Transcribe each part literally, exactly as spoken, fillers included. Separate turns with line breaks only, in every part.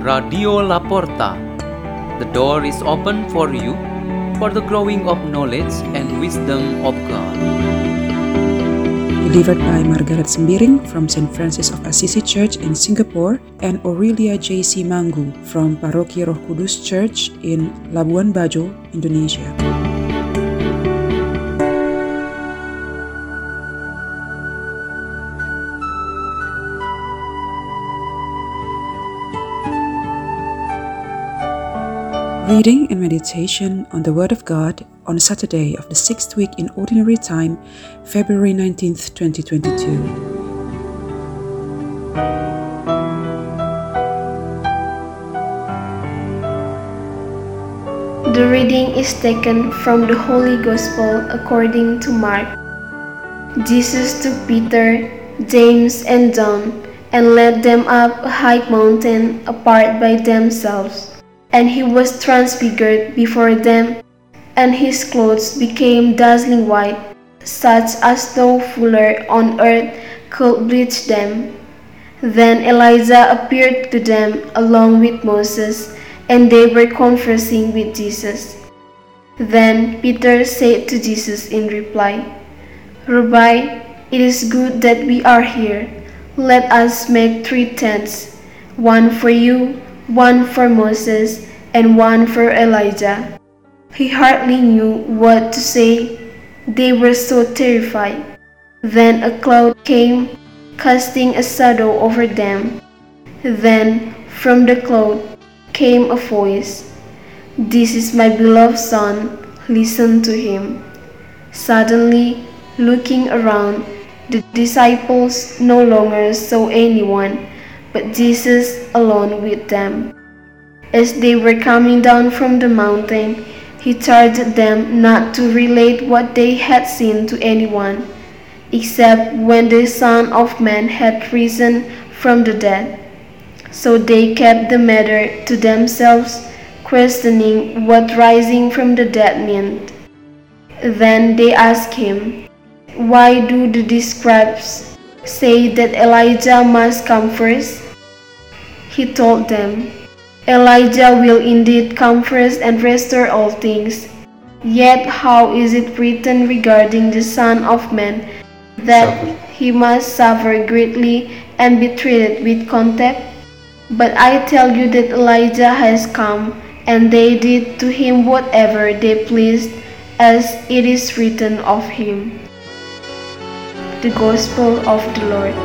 Radio Laporta. The door is open for you for the growing of knowledge and wisdom of God.
Delivered by Margaret Sembiring from Saint Francis of Assisi Church in Singapore and Aurelia J C Manggu from Paroki Roh Kudus Church in Labuan Bajo, Indonesia. Reading and meditation on the Word of God on Saturday of the sixth week in Ordinary Time, February nineteenth, twenty twenty-two.
The reading is taken from the Holy Gospel according to Mark. Jesus took Peter, James, and John and led them up a high mountain apart by themselves. And he was transfigured before them, and his clothes became dazzling white, such as no fuller on earth could bleach them. Then Elijah appeared to them along with Moses, and they were conversing with Jesus. Then Peter said to Jesus in reply, "Rabbi, it is good that we are here. Let us make three tents, one for you, one for Moses, and one for Elijah." He hardly knew what to say. They were so terrified. Then a cloud came, casting a shadow over them. Then from the cloud came a voice, "This is my beloved Son, listen to him." Suddenly, looking around, the disciples no longer saw anyone, but Jesus alone with them. As they were coming down from the mountain, he charged them not to relate what they had seen to anyone, except when the Son of Man had risen from the dead. So they kept the matter to themselves, questioning what rising from the dead meant. Then they asked him, "Why do the scribes say that Elijah must come first?" He told them, "Elijah will indeed come first and restore all things. Yet how is it written regarding the Son of Man that
Suffer.
he must suffer greatly and be treated with contempt? But I tell you that Elijah has come, and they did to him whatever they pleased, as it is written of him." The Gospel of the Lord.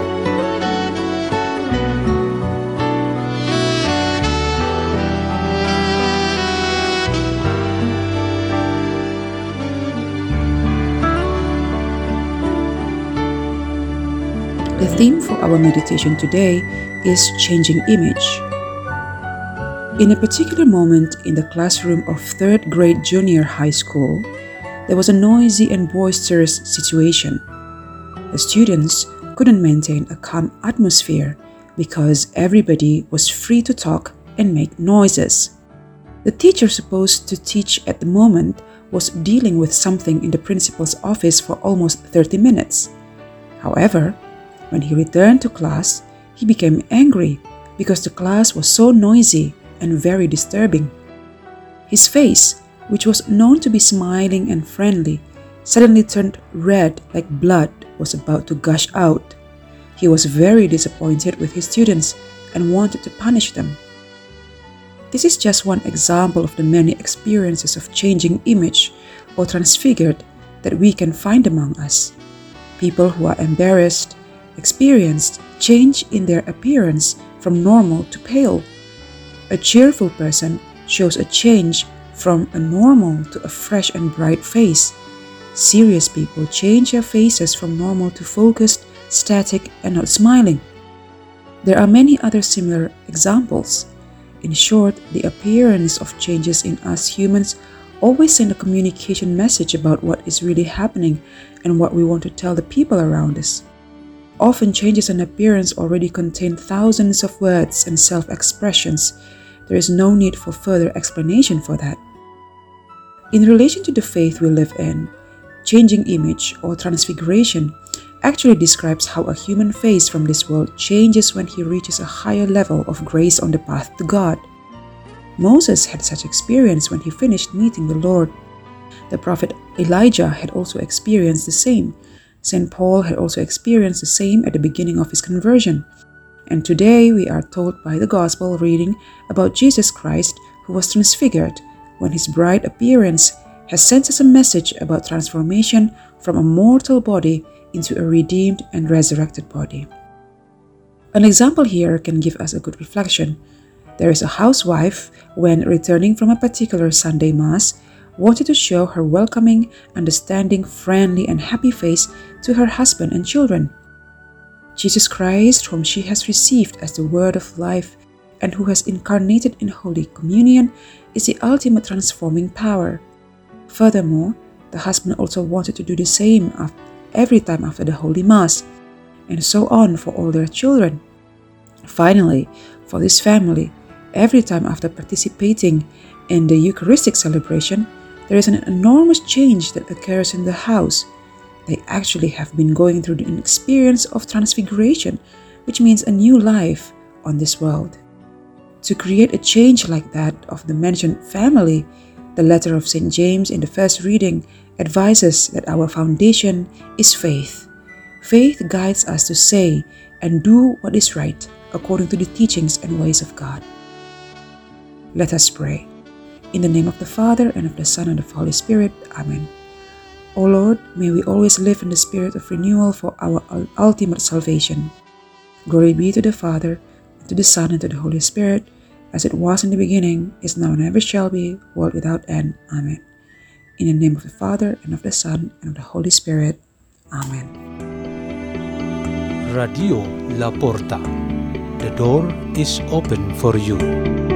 The theme for our meditation today is changing image. In a particular moment in the classroom of third grade junior high school, there was a noisy and boisterous situation. The students couldn't maintain a calm atmosphere because everybody was free to talk and make noises. The teacher supposed to teach at the moment was dealing with something in the principal's office for almost thirty minutes. However, when he returned to class, he became angry because the class was so noisy and very disturbing. His face, which was known to be smiling and friendly, suddenly turned red like blood was about to gush out. He was very disappointed with his students and wanted to punish them. This is just one example of the many experiences of changing image or transfigured that we can find among us. People who are embarrassed experienced change in their appearance from normal to pale. A cheerful person shows a change from a normal to a fresh and bright face. Serious people change their faces from normal to focused, static, and not smiling. There are many other similar examples. In short, the appearance of changes in us humans always send a communication message about what is really happening and what we want to tell the people around us. Often changes in appearance already contain thousands of words and self-expressions. There is no need for further explanation for that. In relation to the faith we live in, changing image or transfiguration actually describes how a human face from this world changes when he reaches a higher level of grace on the path to God. Moses had such experience when he finished meeting the Lord. The prophet Elijah had also experienced the same. Saint Paul had also experienced the same at the beginning of his conversion. And today we are told by the Gospel reading about Jesus Christ, who was transfigured when his bright appearance has sent us a message about transformation from a mortal body into a redeemed and resurrected body. An example here can give us a good reflection. There is a housewife, when returning from a particular Sunday Mass, wanted to show her welcoming, understanding, friendly, and happy face to her husband and children. Jesus Christ, whom she has received as the Word of life and who has incarnated in Holy Communion, is the ultimate transforming power. Furthermore, the husband also wanted to do the same every time after the Holy Mass, and so on for all their children. Finally, for this family, every time after participating in the Eucharistic celebration, there is an enormous change that occurs in the house. They actually have been going through an experience of transfiguration, which means a new life on this world. To create a change like that of the mentioned family, the letter of Saint James in the first reading advises that our foundation is faith. Faith guides us to say and do what is right according to the teachings and ways of God. Let us pray. In the name of the Father, and of the Son, and of the Holy Spirit. Amen. O Lord, may we always live in the spirit of renewal for our ultimate salvation. Glory be to the Father, and to the Son, and to the Holy Spirit, as it was in the beginning, is now, and ever shall be, world without end. Amen. In the name of the Father, and of the Son, and of the Holy Spirit. Amen.
Radio La Porta. The door is open for you.